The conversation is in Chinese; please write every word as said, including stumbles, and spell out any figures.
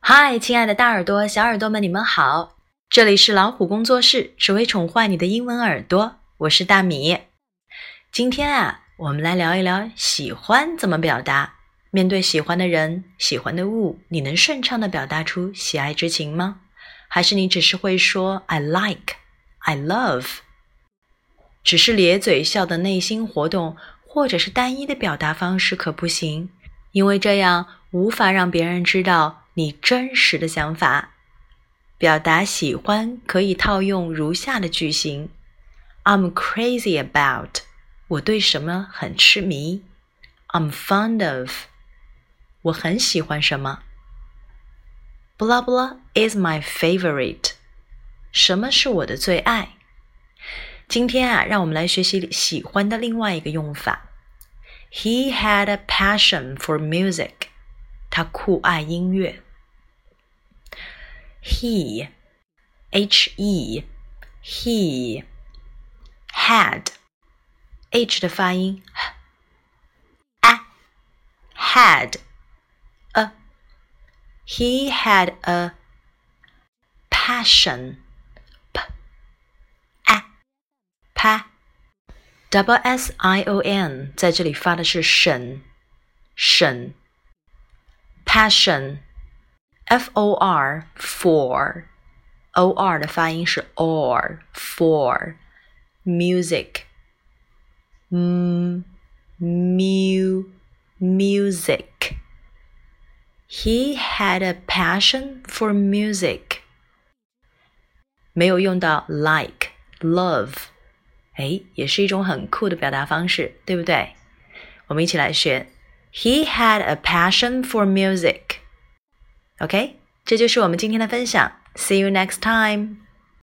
嗨，亲爱的大耳朵、小耳朵们，你们好！这里是老虎工作室，只为宠坏你的英文耳朵，我是大米。今天啊，我们来聊一聊喜欢怎么表达。面对喜欢的人、喜欢的物，你能顺畅地表达出喜爱之情吗？还是你只是会说 I like, I love？ 只是咧嘴笑的内心活动，或者是单一的表达方式可不行，因为这样无法让别人知道你真实的想法。表达喜欢可以套用如下的句型 I'm crazy about 我对什么很痴迷 I'm fond of 我很喜欢什么 Blah blah is my favorite 什么是我的最爱。今天啊，让我们来学习喜欢的另外一个用法。He had a passion for music 他酷爱音乐。He, H-E, he, had, H 的发音 a, had, a, he had a passion, p, a, pa, double S I O N 在这里发的是省，省 passion F O R for O R 的发音是 or for music m mu music He had a passion for music 没有用到 like love 诶，也是一种很酷的表达方式，对不对？我们一起来学 He had a passion for music OK， 这就是我们今天的分享。See you next time.